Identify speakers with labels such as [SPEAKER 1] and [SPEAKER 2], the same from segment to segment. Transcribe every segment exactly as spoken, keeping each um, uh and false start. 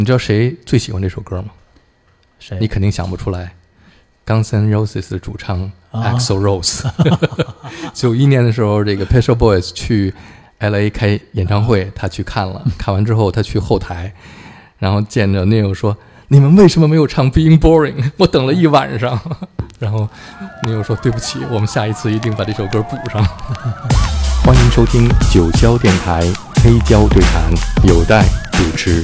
[SPEAKER 1] 你知道谁最喜欢这首歌吗？
[SPEAKER 2] 谁？
[SPEAKER 1] 你肯定想不出来。Guns N' Roses 的主唱 Axl Rose， 九一、啊、年的时候，这个 Pet Shop Boys 去 L A 开演唱会，他去看了，看完之后他去后台，然后见着 Neil 说：“你们为什么没有唱 Being Boring？ 我等了一晚上。”然后 Neil 说：“对不起，我们下一次一定把这首歌补上。”欢迎收听九霄电台黑胶对谈，有待主持。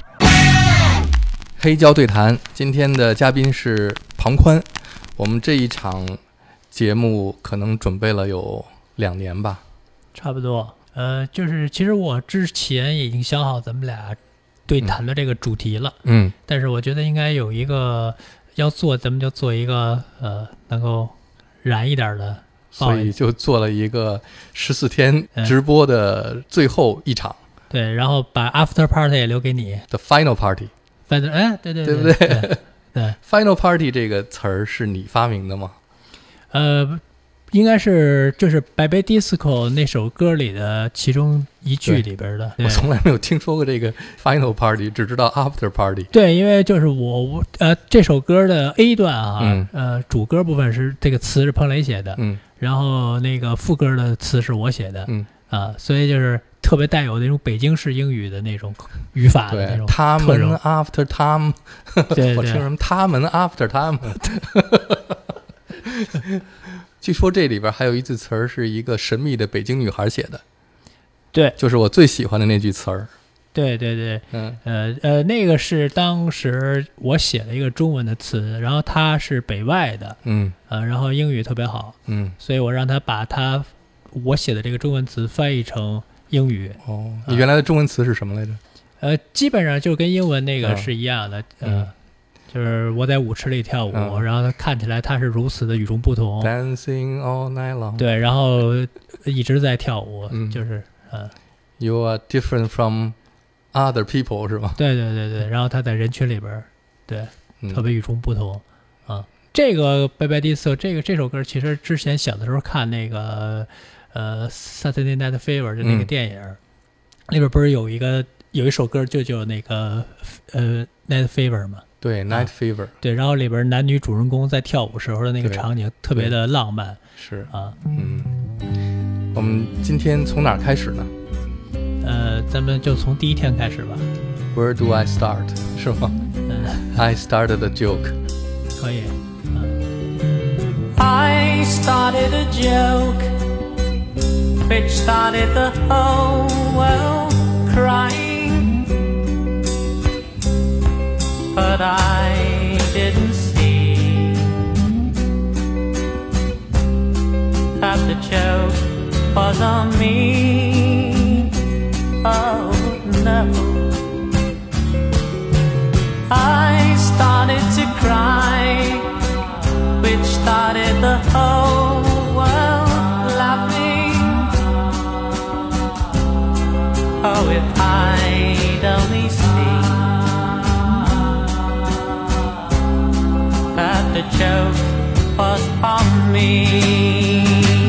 [SPEAKER 1] 黑胶对谈，今天的嘉宾是庞宽。我们这一场节目可能准备了有两年吧，
[SPEAKER 2] 差不多。呃，就是其实我之前已经想好咱们俩对谈的这个主题了，
[SPEAKER 1] 嗯，
[SPEAKER 2] 但是我觉得应该有一个要做，咱们就做一个呃能够燃一点的，
[SPEAKER 1] 所以就做了一个十四天直播的最后一场，
[SPEAKER 2] 嗯、对，然后把 after party 也留给你
[SPEAKER 1] ，the final party。
[SPEAKER 2] 反正哎，对对
[SPEAKER 1] 对不对？
[SPEAKER 2] 对, 对
[SPEAKER 1] ，final party 这个词儿是你发明的吗？
[SPEAKER 2] 呃，应该是就是 Baby Disco 那首歌里的其中一句里边的。
[SPEAKER 1] 我从来没有听说过这个 final party， 只知道 after party。
[SPEAKER 2] 对，因为就是我呃这首歌的 A 段啊，
[SPEAKER 1] 嗯、
[SPEAKER 2] 呃主歌部分是这个词是彭磊写的，
[SPEAKER 1] 嗯，
[SPEAKER 2] 然后那个副歌的词是我写的，
[SPEAKER 1] 嗯
[SPEAKER 2] 啊，所以就是特别带有那种北京式英语的那种语法的那种
[SPEAKER 1] 他们 after 他们，
[SPEAKER 2] 对对
[SPEAKER 1] 我听什么他们 after 他们。据说这里边还有一句词儿是一个神秘的北京女孩写的，
[SPEAKER 2] 对，
[SPEAKER 1] 就是我最喜欢的那句词儿。
[SPEAKER 2] 对对对，
[SPEAKER 1] 嗯
[SPEAKER 2] 呃呃，那个是当时我写了一个中文的词，然后他是北外的，
[SPEAKER 1] 嗯
[SPEAKER 2] 呃，然后英语特别好，
[SPEAKER 1] 嗯，
[SPEAKER 2] 所以我让他把他我写的这个中文词翻译成英语。
[SPEAKER 1] 哦，你原来的中文词是什么来着？
[SPEAKER 2] 呃，基本上就跟英文那个是一样的，
[SPEAKER 1] 嗯、
[SPEAKER 2] 呃，就是我在舞池里跳舞，
[SPEAKER 1] 嗯、
[SPEAKER 2] 然后他看起来他是如此的与众不同
[SPEAKER 1] ，Dancing all night long。
[SPEAKER 2] 对，然后一直在跳舞，
[SPEAKER 1] 嗯、
[SPEAKER 2] 就是呃
[SPEAKER 1] ，You are different from other people 是吧？
[SPEAKER 2] 对对对对，然后他在人群里边，对，
[SPEAKER 1] 嗯、
[SPEAKER 2] 特别与众不同啊。这个 Baby Disco 这个这首歌，其实之前小的时候看那个呃 Saturday Night Fever 就那个电影，嗯、里边不是有一个。有一首歌就叫那个呃 Night Fever 嘛，
[SPEAKER 1] 对 Night Fever，、啊、
[SPEAKER 2] 对，然后里边男女主人公在跳舞时候的那个场景特别的浪漫，
[SPEAKER 1] 是
[SPEAKER 2] 啊，
[SPEAKER 1] 嗯，我们今天从哪儿开始呢？
[SPEAKER 2] 呃，咱们就从第一天开始吧。
[SPEAKER 1] Where do I start？ 是吗？
[SPEAKER 2] 嗯
[SPEAKER 1] I started a joke。
[SPEAKER 2] 可以。
[SPEAKER 3] 嗯、I started a joke, which started the whole world crying.But I didn't see that the joke was on me. Oh no, I started to cry, which started the whole world laughing. Oh, if I'd only seen.The joke was on me.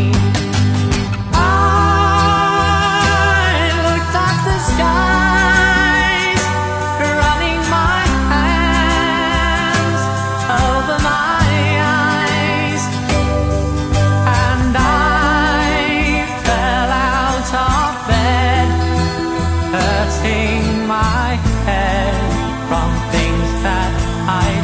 [SPEAKER 3] I looked at the skies, running my hands over my eyes, and I fell out of bed, hurting my head from things that I'd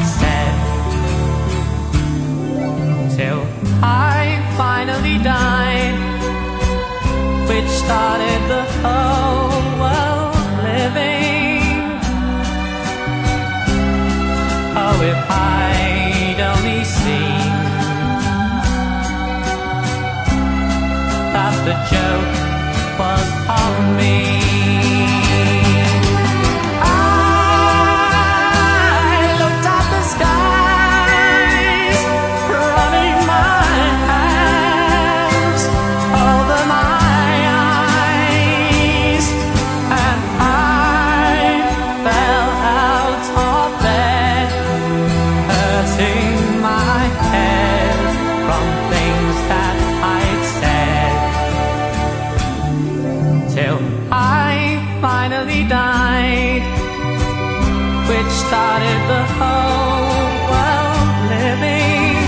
[SPEAKER 3] said.Till I finally died, which started the whole world living. Oh, if I'd only seen that the joke was on me.I which started the whole world living.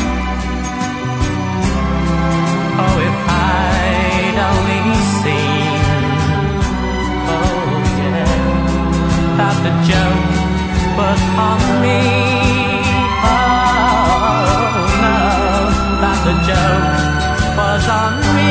[SPEAKER 3] Oh, if I'd only seen, oh yeah, that the joke was on me. Oh no, that the joke was on me.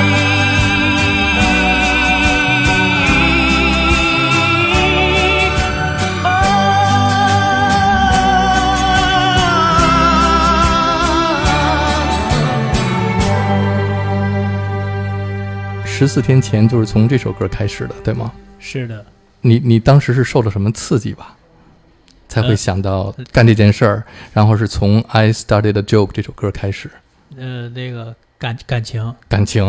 [SPEAKER 1] 十四天前就是从这首歌开始的，对吗？
[SPEAKER 2] 是的。
[SPEAKER 1] 你你当时是受了什么刺激吧，才会想到干这件事儿、呃？然后是从 I Started a Joke 这首歌开始。
[SPEAKER 2] 呃，那个感感情，
[SPEAKER 1] 感情，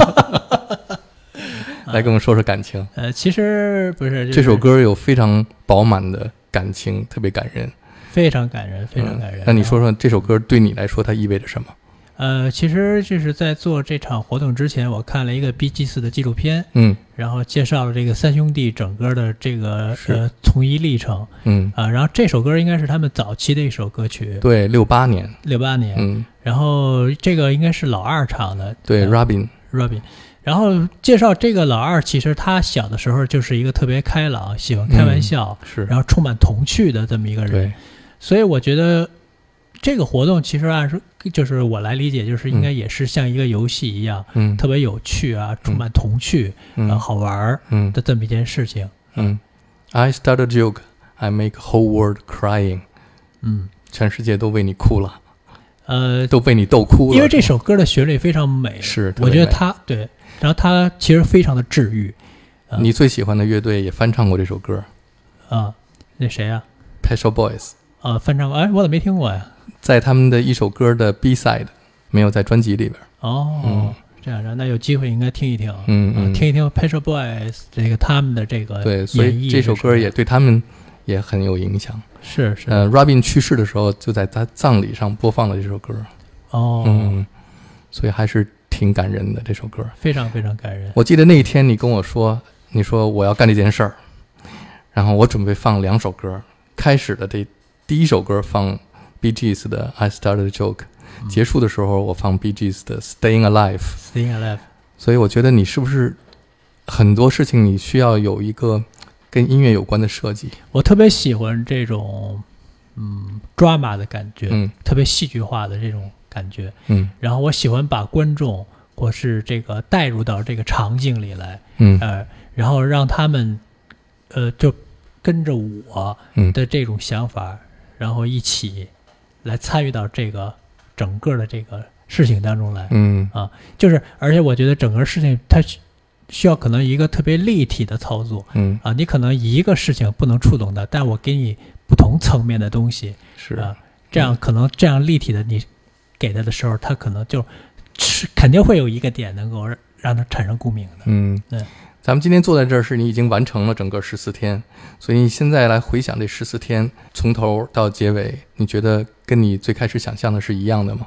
[SPEAKER 1] 来跟我们说说感情。
[SPEAKER 2] 呃，其实不是、就是、
[SPEAKER 1] 这首歌有非常饱满的感情，特别感人，
[SPEAKER 2] 非常感人，非常感人。
[SPEAKER 1] 嗯、那你说说这首歌对你来说它意味着什么？
[SPEAKER 2] 呃，其实就是在做这场活动之前，我看了一个 Bee Gees 的纪录片，
[SPEAKER 1] 嗯，
[SPEAKER 2] 然后介绍了这个三兄弟整个的这个呃从医历程，
[SPEAKER 1] 嗯
[SPEAKER 2] 啊、呃，然后这首歌应该是他们早期的一首歌曲，
[SPEAKER 1] 对，六八年，
[SPEAKER 2] 六八年，
[SPEAKER 1] 嗯，
[SPEAKER 2] 然后这个应该是老二唱的，
[SPEAKER 1] 对、
[SPEAKER 2] 呃、
[SPEAKER 1] ，Robin
[SPEAKER 2] Robin， 然后介绍这个老二，其实他小的时候就是一个特别开朗、喜欢开玩笑，
[SPEAKER 1] 嗯、是，
[SPEAKER 2] 然后充满童趣的这么一个人，
[SPEAKER 1] 对，
[SPEAKER 2] 所以我觉得。这个活动其实按说就是我来理解，就是应该也是像一个游戏一样，
[SPEAKER 1] 嗯，
[SPEAKER 2] 特别有趣啊，充满童趣，
[SPEAKER 1] 嗯，
[SPEAKER 2] 呃、好玩嗯的这么一件事情。
[SPEAKER 1] 嗯 ，I start a joke, I make whole world crying。
[SPEAKER 2] 嗯，
[SPEAKER 1] 全世界都为你哭了，
[SPEAKER 2] 呃，
[SPEAKER 1] 都被你逗哭了。
[SPEAKER 2] 因为这首歌的旋律非常美，
[SPEAKER 1] 是，
[SPEAKER 2] 我觉得它对，然后它其实非常的治愈。
[SPEAKER 1] 呃、你最喜欢的乐队也翻唱过这首歌
[SPEAKER 2] 啊？那谁啊
[SPEAKER 1] ？Pet Shop Boys。
[SPEAKER 2] 呃，翻唱过，哎，我怎么没听过呀？
[SPEAKER 1] 在他们的一首歌的 B side， 没有在专辑里边。
[SPEAKER 2] 哦，
[SPEAKER 1] 嗯、
[SPEAKER 2] 这样，那有机会应该听一听，
[SPEAKER 1] 嗯嗯，
[SPEAKER 2] 呃、听一听 Pet Shop Boys 这个他们的这个
[SPEAKER 1] 对，所以这首歌也对他们也很有影响。
[SPEAKER 2] 是是，
[SPEAKER 1] 呃 ，Robin 去世的时候，就在他葬礼上播放了这首歌。
[SPEAKER 2] 哦，
[SPEAKER 1] 嗯，所以还是挺感人的这首歌，
[SPEAKER 2] 非常非常感人。
[SPEAKER 1] 我记得那一天你跟我说，你说我要干这件事儿，然后我准备放两首歌，开始的这第一首歌放 Bee Gees 的 I Started a Joke，、嗯、结束的时候我放 Bee Gees 的 Staying Alive。Staying
[SPEAKER 2] Alive。
[SPEAKER 1] 所以我觉得你是不是很多事情你需要有一个跟音乐有关的设计？
[SPEAKER 2] 我特别喜欢这种嗯 drama 的感觉，
[SPEAKER 1] 嗯，
[SPEAKER 2] 特别戏剧化的这种感觉，
[SPEAKER 1] 嗯，
[SPEAKER 2] 然后我喜欢把观众或是这个带入到这个场景里来，
[SPEAKER 1] 嗯，
[SPEAKER 2] 呃，然后让他们呃就跟着我的这种想法。嗯，然后一起来参与到这个整个的这个事情当中来，
[SPEAKER 1] 嗯
[SPEAKER 2] 啊，就是而且我觉得整个事情它需要可能一个特别立体的操作，
[SPEAKER 1] 嗯
[SPEAKER 2] 啊，你可能一个事情不能触动的，但我给你不同层面的东西，
[SPEAKER 1] 是
[SPEAKER 2] 啊，这样可能这样立体的你给他的时候，他可能就肯定会有一个点能够让他产生共鸣的，
[SPEAKER 1] 嗯，
[SPEAKER 2] 对。
[SPEAKER 1] 咱们今天坐在这儿是你已经完成了整个十四天，所以你现在来回想这十四天从头到结尾，你觉得跟你最开始想象的是一样的吗？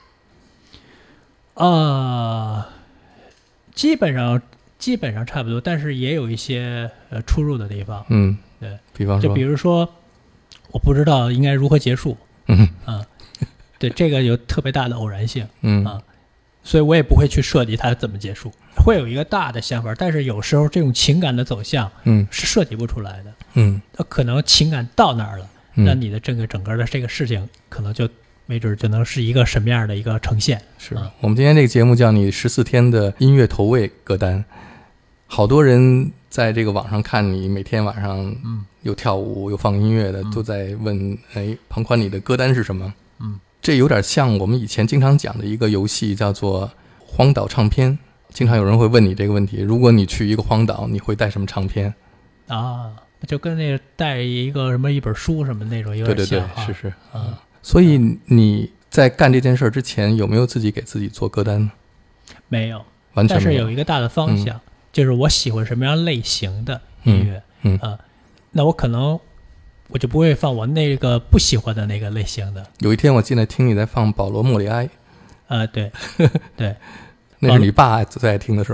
[SPEAKER 2] 呃，基本上基本上差不多，但是也有一些呃出入的地方。
[SPEAKER 1] 嗯，
[SPEAKER 2] 对，
[SPEAKER 1] 比方说，
[SPEAKER 2] 就比如说，我不知道应该如何结束。
[SPEAKER 1] 嗯
[SPEAKER 2] 啊，对，这个有特别大的偶然性。
[SPEAKER 1] 嗯
[SPEAKER 2] 啊。所以我也不会去设计它怎么结束，会有一个大的想法，但是有时候这种情感的走向，
[SPEAKER 1] 嗯，
[SPEAKER 2] 是设计不出来的，
[SPEAKER 1] 嗯，
[SPEAKER 2] 可能情感到那儿了，
[SPEAKER 1] 嗯、
[SPEAKER 2] 那你的这个整个的这个事情，可能就没准就能是一个什么样的一个呈现。
[SPEAKER 1] 是、
[SPEAKER 2] 嗯、
[SPEAKER 1] 我们今天这个节目叫你十四天的音乐投喂歌单，好多人在这个网上看你每天晚上有跳舞、嗯、有放音乐的，都在问，哎，庞宽你的歌单是什么？
[SPEAKER 2] 嗯。
[SPEAKER 1] 这有点像我们以前经常讲的一个游戏，叫做荒岛唱片。经常有人会问你这个问题：如果你去一个荒岛，你会带什么唱片？
[SPEAKER 2] 啊，就跟那个带一个什么一本书什么那种有点像。
[SPEAKER 1] 对对对，是是。
[SPEAKER 2] 嗯，
[SPEAKER 1] 所以你在干这件事之前，有没有自己给自己做歌单呢？
[SPEAKER 2] 没有，
[SPEAKER 1] 完全没有。
[SPEAKER 2] 但是有一个大的方向，嗯、就是我喜欢什么样类型的音乐。
[SPEAKER 1] 嗯，
[SPEAKER 2] 嗯、呃，那我可能。我就不会放我那个不喜欢的那个类型的。
[SPEAKER 1] 有一天我进来听你在放保罗·莫里埃，
[SPEAKER 2] 呃，对，对，
[SPEAKER 1] 那是你爸最爱听的是吗？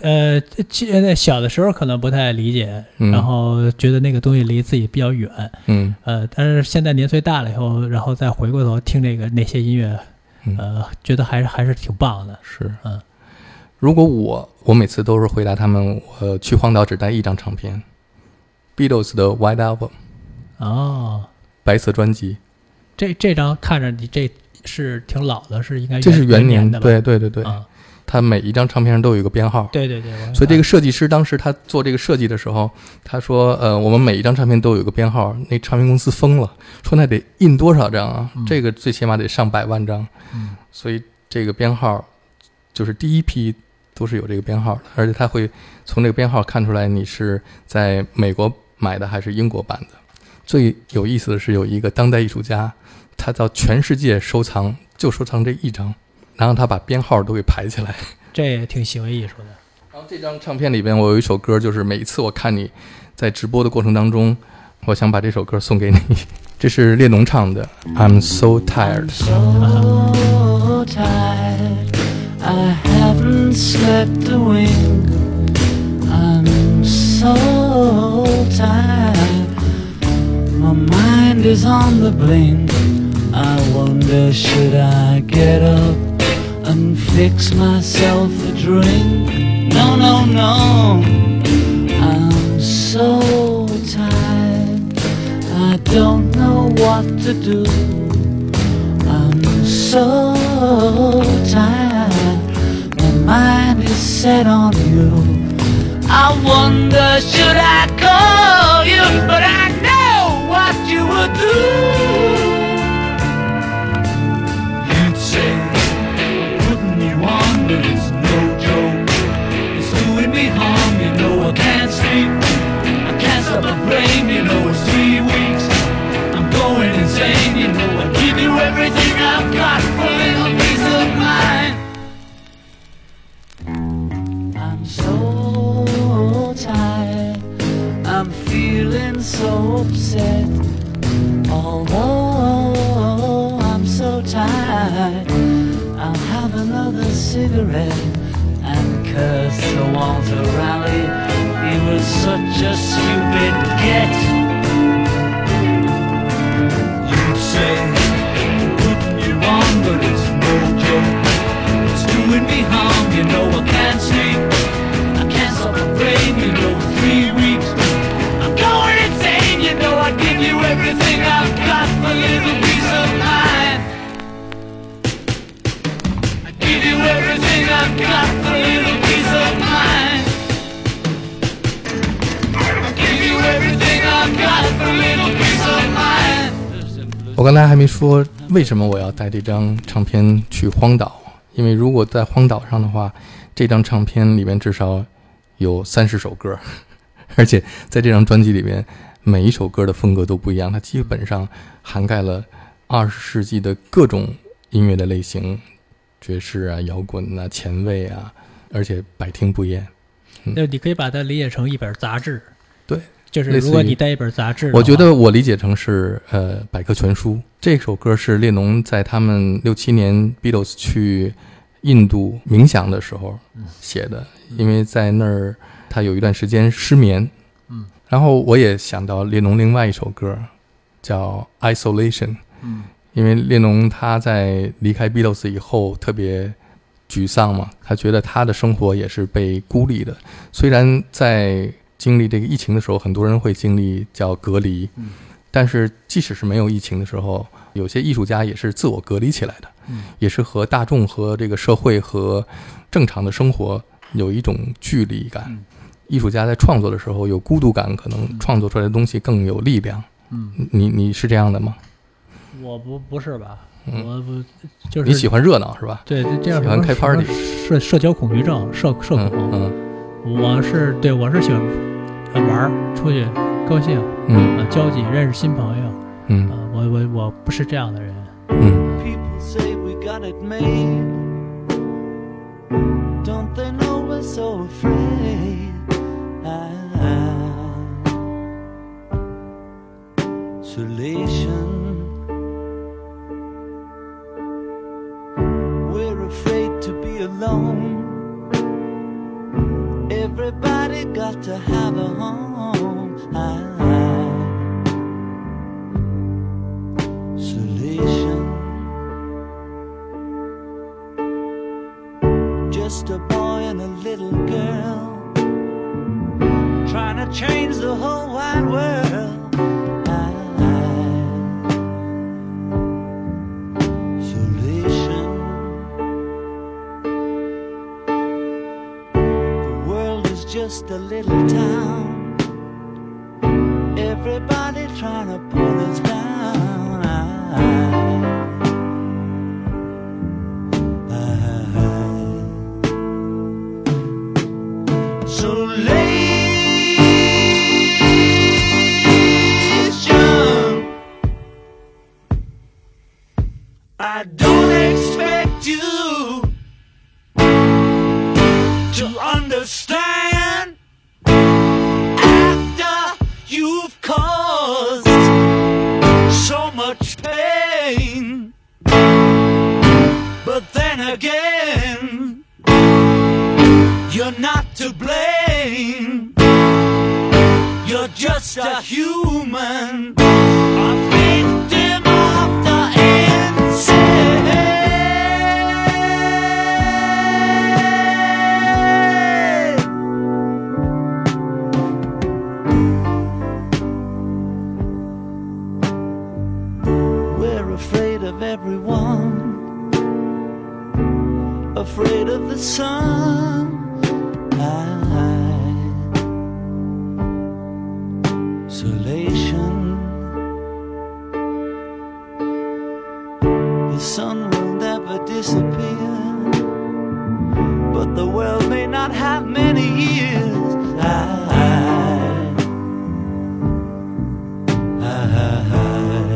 [SPEAKER 2] 呃，呃小的时候可能不太理解，
[SPEAKER 1] 嗯、
[SPEAKER 2] 然后觉得那个东西离自己比较远，
[SPEAKER 1] 嗯，
[SPEAKER 2] 呃，但是现在年岁大了以后，然后再回过头听这个那些音乐，
[SPEAKER 1] 嗯、
[SPEAKER 2] 呃，觉得还是还是挺棒的。
[SPEAKER 1] 是，
[SPEAKER 2] 嗯，
[SPEAKER 1] 如果我我每次都是回答他们，我去荒岛只带一张唱片 ，Beatles 的 White Album，
[SPEAKER 2] 哦，
[SPEAKER 1] 白色专辑，
[SPEAKER 2] 这这张看着你这是挺老的，是应该
[SPEAKER 1] 这是元
[SPEAKER 2] 年的吧？
[SPEAKER 1] 对对对对。
[SPEAKER 2] 啊
[SPEAKER 1] 它每一张唱片上都有一个编号，
[SPEAKER 2] 对对对，
[SPEAKER 1] 所以这个设计师当时他做这个设计的时候，他说：“呃，我们每一张唱片都有一个编号。”那唱片公司疯了，说那得印多少张啊？嗯、这个最起码得上百万张。
[SPEAKER 2] 嗯，
[SPEAKER 1] 所以这个编号就是第一批都是有这个编号的，而且他会从这个编号看出来你是在美国买的还是英国版的。最有意思的是有一个当代艺术家，他到全世界收藏，就收藏这一张。然后他把编号都给排起来，
[SPEAKER 2] 这也挺行为艺术的。
[SPEAKER 1] 然后这张唱片里边，我有一首歌，就是每一次我看你在直播的过程当中，我想把这首歌送给你。这是列侬唱的 I'm so tired.
[SPEAKER 4] I'm so tired. I haven't slept a wink. I'm so tired. My mind is on the blink. I wonder, should I get up and fix myself a drink? No, no, no. I'm so tired. I don't know what to do. I'm so tired. My mind is set on you. I wonder, should I call you? But I know what you would do. But it's no joke. It's doing me harm, you know. I can't sleep, I can't stop the brain, you know. It's three weeks, I'm going insane, you know. I give you everything I've got for a little peace of mind. I'm so tired, I'm feeling so upset. Although I'm so tired, I'll have another cigarette and curse the Walter Raleigh. He was such a stupid get. You'd say, putting you on, but it's no joke. It's doing me harm, you know. I can't sleep, I can't stop the brain, you know. Three weeks, I'm going insane, you know. I'd give you everything I've got for a little peace of mind. Give you everything I've got for a little peace of mind. Give you everything I've got for a little peace of mind.
[SPEAKER 1] 我刚才还没说为什么我要带这张唱片去荒岛，因为如果在荒岛上的话，这张唱片里面至少有三十首歌，而且在这张专辑里面，每一首歌的风格都不一样，它基本上涵盖了二十世纪的各种音乐的类型。爵士啊，摇滚啊，前卫啊，而且百听不厌。
[SPEAKER 2] 嗯、你可以把它理解成一本杂志。
[SPEAKER 1] 对，
[SPEAKER 2] 就是如果你带一本杂志，
[SPEAKER 1] 我觉得我理解成是呃百科全书。这首歌是列侬在他们六七年 Beatles 去印度冥想的时候写的，嗯、因为在那儿他有一段时间失眠。嗯，然后我也想到列侬另外一首歌叫 Isolation。嗯。因为列侬他在离开 Beatles 以后特别沮丧嘛，他觉得他的生活也是被孤立的。虽然在经历这个疫情的时候，很多人会经历叫隔离，嗯、但是即使是没有疫情的时候，有些艺术家也是自我隔离起来的，嗯、也是和大众和这个社会和正常的生活有一种距离感。嗯、艺术家在创作的时候有孤独感，可能创作出来的东西更有力量。嗯，你你是这样的吗？
[SPEAKER 2] 我不不是吧，
[SPEAKER 1] 嗯、
[SPEAKER 2] 我不就是
[SPEAKER 1] 你喜欢热闹是吧？
[SPEAKER 2] 对，这样
[SPEAKER 1] 喜欢开 party，
[SPEAKER 2] 社社交恐惧症，社社恐。
[SPEAKER 1] 嗯，
[SPEAKER 2] 嗯我是对我是喜欢玩出去高兴，
[SPEAKER 1] 嗯、
[SPEAKER 2] 啊，交际认识新朋友，
[SPEAKER 1] 嗯，
[SPEAKER 2] 啊，我我我不是这样的人。
[SPEAKER 1] 嗯。
[SPEAKER 4] People say we got it made. Don't they know we're so afraid? Isolation.We're afraid to be alone. got to have a home. I, isolation. Just a boy and a little girl trying to change the whole wide world. Isolation. The world is just a little town. Everybody trying to pull us down. I, Isolation. I don't expect you to understand after you've caused so much pain. But then again, you're not to blame. You're just a human, a victim of the insane. We're afraid of everyone, afraid of the sun. Isolation. The sun will never disappear, but the world may not have many years. I, I, I,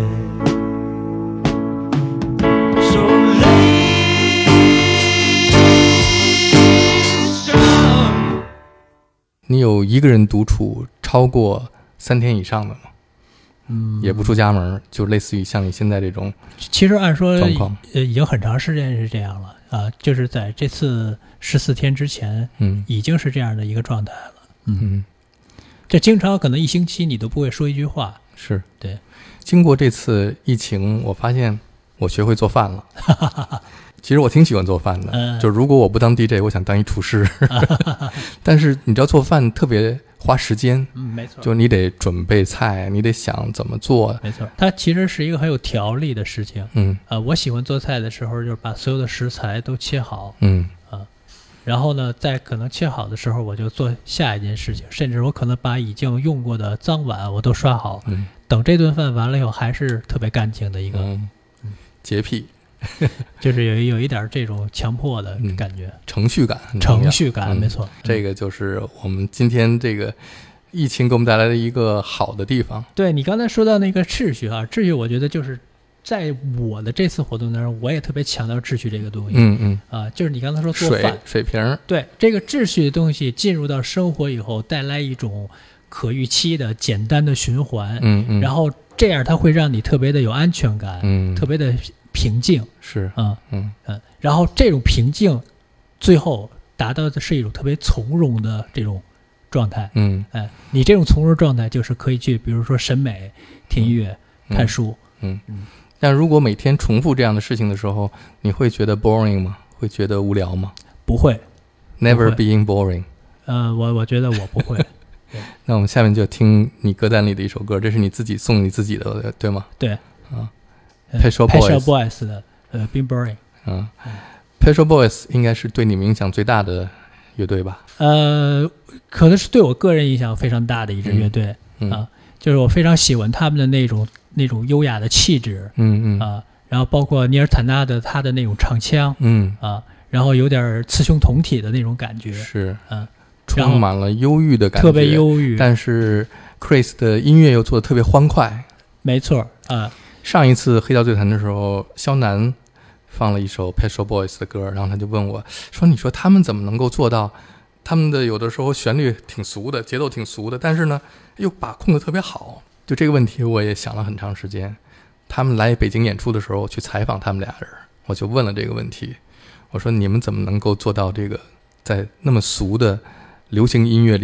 [SPEAKER 4] Isolation.
[SPEAKER 1] 你有一个人独处超过三天以上的吗？嗯，也不出家门，就类似于像你现在这种。
[SPEAKER 2] 其实按说
[SPEAKER 1] 状况，
[SPEAKER 2] 呃，已经很长时间是这样了啊，就是在这次十四天之前，
[SPEAKER 1] 嗯，
[SPEAKER 2] 已经是这样的一个状态了。
[SPEAKER 1] 嗯，嗯
[SPEAKER 2] 这经常可能一星期你都不会说一句话。
[SPEAKER 1] 是，
[SPEAKER 2] 对。
[SPEAKER 1] 经过这次疫情，我发现我学会做饭了。其实我挺喜欢做饭的，
[SPEAKER 2] 嗯、
[SPEAKER 1] 就如果我不当 D J， 我想当一厨师。但是你知道做饭特别花时间，
[SPEAKER 2] 嗯，没错，
[SPEAKER 1] 就你得准备菜，你得想怎么做，
[SPEAKER 2] 没错，它其实是一个很有条理的事情。
[SPEAKER 1] 嗯，
[SPEAKER 2] 呃，我喜欢做菜的时候，就是把所有的食材都切好，
[SPEAKER 1] 嗯
[SPEAKER 2] 啊，然后呢，在可能切好的时候，我就做下一件事情，甚至我可能把已经用过的脏碗我都刷好，
[SPEAKER 1] 嗯，
[SPEAKER 2] 等这顿饭完了以后，还是特别干净的一个，
[SPEAKER 1] 嗯，洁癖。
[SPEAKER 2] 就是有有一点这种强迫的感觉，
[SPEAKER 1] 嗯、程序感很重要，
[SPEAKER 2] 程序感、
[SPEAKER 1] 嗯、
[SPEAKER 2] 没错，
[SPEAKER 1] 这个就是我们今天这个疫情给我们带来的一个好的地方。
[SPEAKER 2] 对，你刚才说到那个秩序啊，秩序我觉得就是在我的这次活动当中，我也特别强调秩序这个东西。
[SPEAKER 1] 嗯嗯
[SPEAKER 2] 啊，就是你刚才说做
[SPEAKER 1] 水
[SPEAKER 2] 饭
[SPEAKER 1] 水瓶，
[SPEAKER 2] 对这个秩序的东西进入到生活以后，带来一种可预期的简单的循环。
[SPEAKER 1] 嗯嗯，
[SPEAKER 2] 然后这样它会让你特别的有安全感，
[SPEAKER 1] 嗯，
[SPEAKER 2] 特别的平静。
[SPEAKER 1] 是
[SPEAKER 2] 啊，
[SPEAKER 1] 嗯
[SPEAKER 2] 嗯，然后这种平静，最后达到的是一种特别从容的这种状态。
[SPEAKER 1] 嗯，
[SPEAKER 2] 哎，你这种从容状态就是可以去，比如说审美、听音乐、
[SPEAKER 1] 嗯、
[SPEAKER 2] 看书。
[SPEAKER 1] 嗯嗯。但如果每天重复这样的事情的时候，你会觉得 boring 吗？会觉得无聊吗？
[SPEAKER 2] 不会
[SPEAKER 1] ，never
[SPEAKER 2] 不会
[SPEAKER 1] being boring。
[SPEAKER 2] 呃，我我觉得我不会。
[SPEAKER 1] 那我们下面就听你歌单里的一首歌，这是你自己送你自己的，对吗？
[SPEAKER 2] 对。
[SPEAKER 1] 啊
[SPEAKER 2] ，Pet
[SPEAKER 1] Shop
[SPEAKER 2] Boys, Boys 的呃 ，Being Boring。
[SPEAKER 1] 嗯 ，Pet Shop Boys 应该是对你们影响最大的乐队吧？
[SPEAKER 2] 呃，可能是对我个人影响非常大的一支乐队、
[SPEAKER 1] 嗯嗯、
[SPEAKER 2] 啊，就是我非常喜欢他们的那种那种优雅的气质。
[SPEAKER 1] 嗯嗯
[SPEAKER 2] 啊，然后包括尼尔坦纳的他的那种唱腔。
[SPEAKER 1] 嗯
[SPEAKER 2] 啊，然后有点雌雄同体的那种感觉。
[SPEAKER 1] 是，
[SPEAKER 2] 嗯、啊。
[SPEAKER 1] 充满了忧郁的感觉，
[SPEAKER 2] 特别忧郁。
[SPEAKER 1] 但是 Chris 的音乐又做得特别欢快。
[SPEAKER 2] 没错啊。
[SPEAKER 1] 上一次黑胶对谈的时候，肖楠放了一首 Pet Shop Boys 的歌，然后他就问我说：“你说他们怎么能够做到？他们的有的时候旋律挺俗的，节奏挺俗的，但是呢又把控得特别好。”就这个问题，我也想了很长时间。他们来北京演出的时候，我去采访他们俩人，我就问了这个问题，我说：“你们怎么能够做到这个在那么俗的流行音乐里面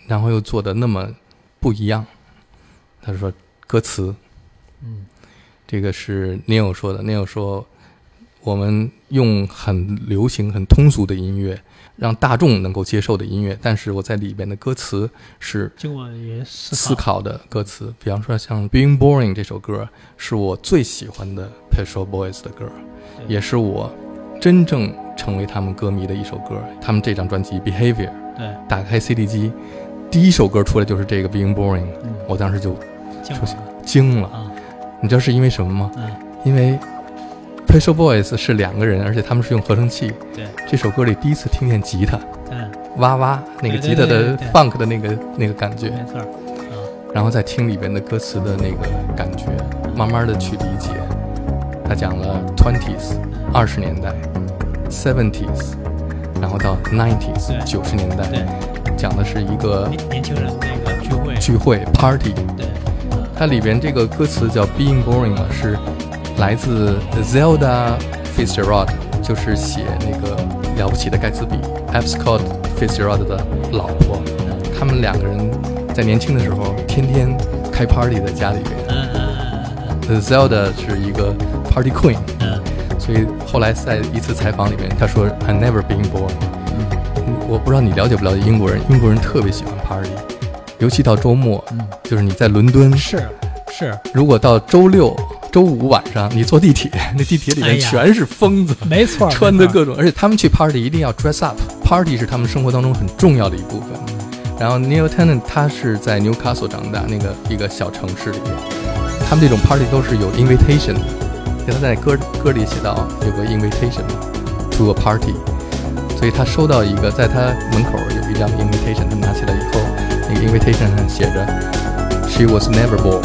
[SPEAKER 1] 然后又做的那么不一样。他说歌词，
[SPEAKER 2] 嗯，
[SPEAKER 1] 这个是 Neil 说的。Neil 说我们用很流行很通俗的音乐，让大众能够接受的音乐，但是我在里边的歌词是
[SPEAKER 2] 经过也思
[SPEAKER 1] 思考的歌词。比方说像 Being Boring 这首歌是我最喜欢的 Pet Shop Boys 的歌，也是我真正成为他们歌迷的一首歌。他们这张专辑 Behavior，
[SPEAKER 2] 对，
[SPEAKER 1] 打开 C D 机第一首歌出来就是这个 Being Boring，
[SPEAKER 2] 嗯，
[SPEAKER 1] 我当时就
[SPEAKER 2] 惊了
[SPEAKER 1] 惊了。
[SPEAKER 2] 啊，
[SPEAKER 1] 你知道是因为什么吗？
[SPEAKER 2] 嗯，
[SPEAKER 1] 因为 Pet Shop Boys 是两个人，而且他们是用合成器。
[SPEAKER 2] 对，
[SPEAKER 1] 这首歌里第一次听见吉他，
[SPEAKER 2] 嗯，
[SPEAKER 1] 哇哇那个吉他的 funk 的那个那个感觉，
[SPEAKER 2] 没错，
[SPEAKER 1] 然后再听里边的歌词的那个感觉，慢慢的去理解。他讲了 twenties 二十年代 seventies， 然后到 nineties 九十年代，
[SPEAKER 2] 对，
[SPEAKER 1] 讲的是一个
[SPEAKER 2] 年年轻人那个聚会
[SPEAKER 1] 聚会 party。
[SPEAKER 2] 对，
[SPEAKER 1] 它里边这个歌词叫 Being Boring 嘛，是来自 Zelda Fitzgerald， 就是写那个了不起的盖茨比 F. Scott Fitzgerald 的老婆。他们两个人在年轻的时候天天开 party 在家里边。
[SPEAKER 2] 嗯嗯
[SPEAKER 1] 嗯 Zelda 是一个 party queen，
[SPEAKER 2] 嗯，
[SPEAKER 1] 所以后来在一次采访里面，他说 I never been boring。嗯，我不知道你了解不了解英国人，英国人特别喜欢 party， 尤其到周末，
[SPEAKER 2] 嗯，
[SPEAKER 1] 就是你在伦敦，
[SPEAKER 2] 是是，
[SPEAKER 1] 如果到周六、周五晚上你坐地铁，那地铁里面全是疯子，
[SPEAKER 2] 哎、没错，
[SPEAKER 1] 穿的各种，而且他们去 party 一定要 dress up，party 是他们生活当中很重要的一部分。然后 Neil Tennant 他是在 Newcastle 长大，那个一个小城市里面，他们这种 party 都是有 invitation 的，他在歌歌里写到有个 invitation to a party， 所以他收到一个，在他门口有一张 invitation， 他拿起来以后，那个 invitation 上写着 She was never bored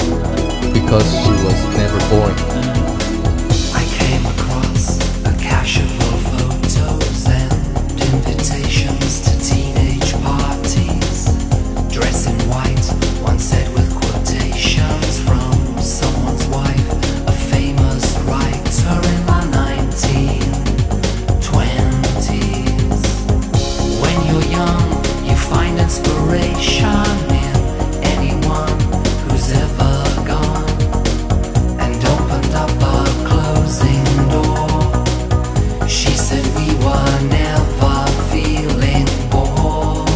[SPEAKER 1] because she was never boring。I
[SPEAKER 5] came across a cache of photos and invitations to teenage parties, dressed in white, one set with quotations from someone's wife, a famous writer in the nineteen twenties. When you're young, you find inspiration in anyone who's ever gone and opened up a closing door. She said we were never feeling bored,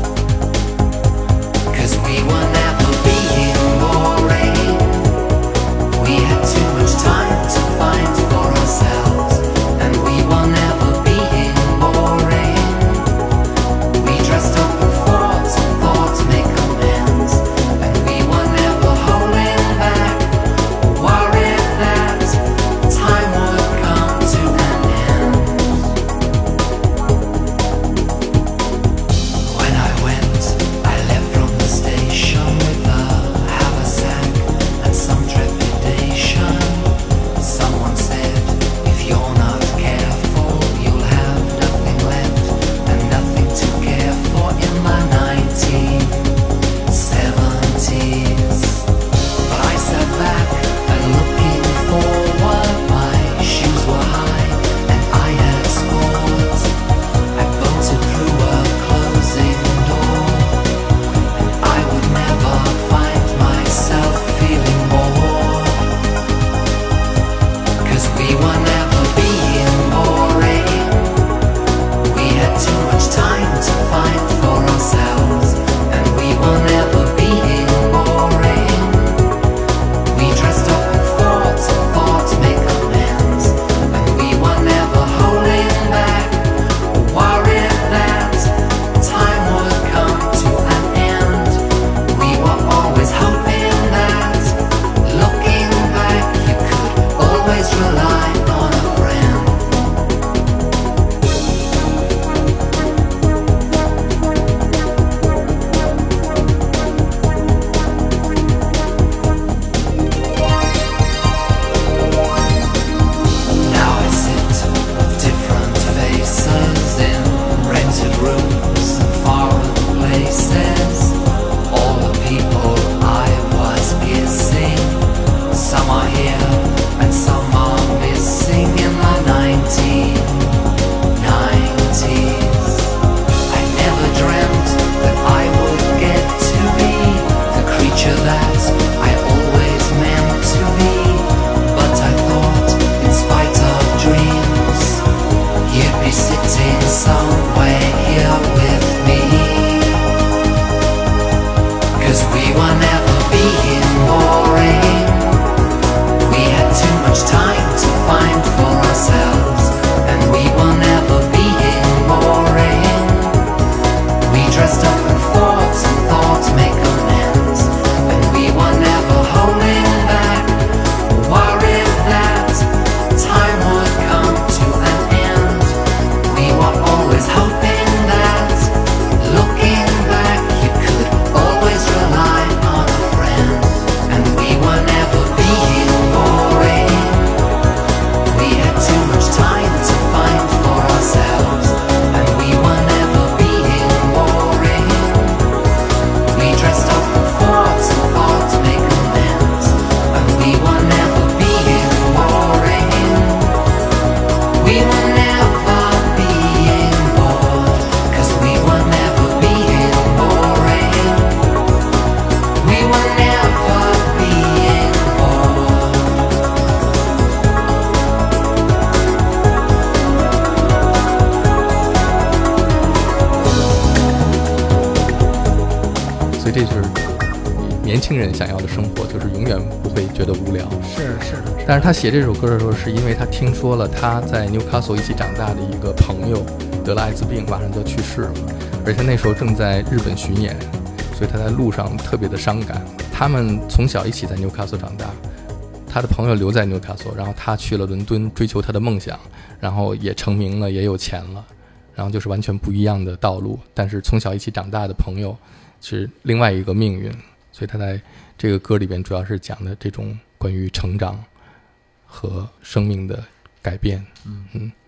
[SPEAKER 5] 'cause we were never being boring. We had too much time to find for ourselves, and we were never being boring. We dressed up in thoughts and thoughts make amends, and we were never holding back, worried that time would come to an end. When I went, I left from the station with a haversack and some trepidation. Someone said, if you're not careful, you'll have nothing left and nothing to care for in the nineteen seventies. But I sat back and looking forward, my shoes were high and I had scored. I bolted through a closing door, and I would never find myself feeling bored, 'cause we were never being boring. We had too much time to find for ourselves, and we were never being boring. We dressed up in thoughts and thoughts make amends, and we were never holding back, worried that time would come to an end. We were always hoping that, looking back, you could always rely on a friend. Now I sit with different faces in rented rooms and foreign places. All the people I was kissing, some are here and some are missing in the nineteen nineties. I never dreamt that I would
[SPEAKER 1] 年轻人想要的生活，就是永远不会觉得无聊。
[SPEAKER 2] 是是的。
[SPEAKER 1] 但是他写这首歌的时候，是因为他听说了他在纽卡索一起长大的一个朋友得了艾滋病，马上就要去世了，而且那时候正在日本巡演，所以他在路上特别的伤感。他们从小一起在纽卡索长大，他的朋友留在纽卡索，然后他去了伦敦追求他的梦想，然后也成名了，也有钱了，然后就是完全不一样的道路。但是从小一起长大的朋友是另外一个命运，所以他在这个歌里边主要是讲的这种关于成长和生命的改变。
[SPEAKER 2] 嗯
[SPEAKER 1] 嗯。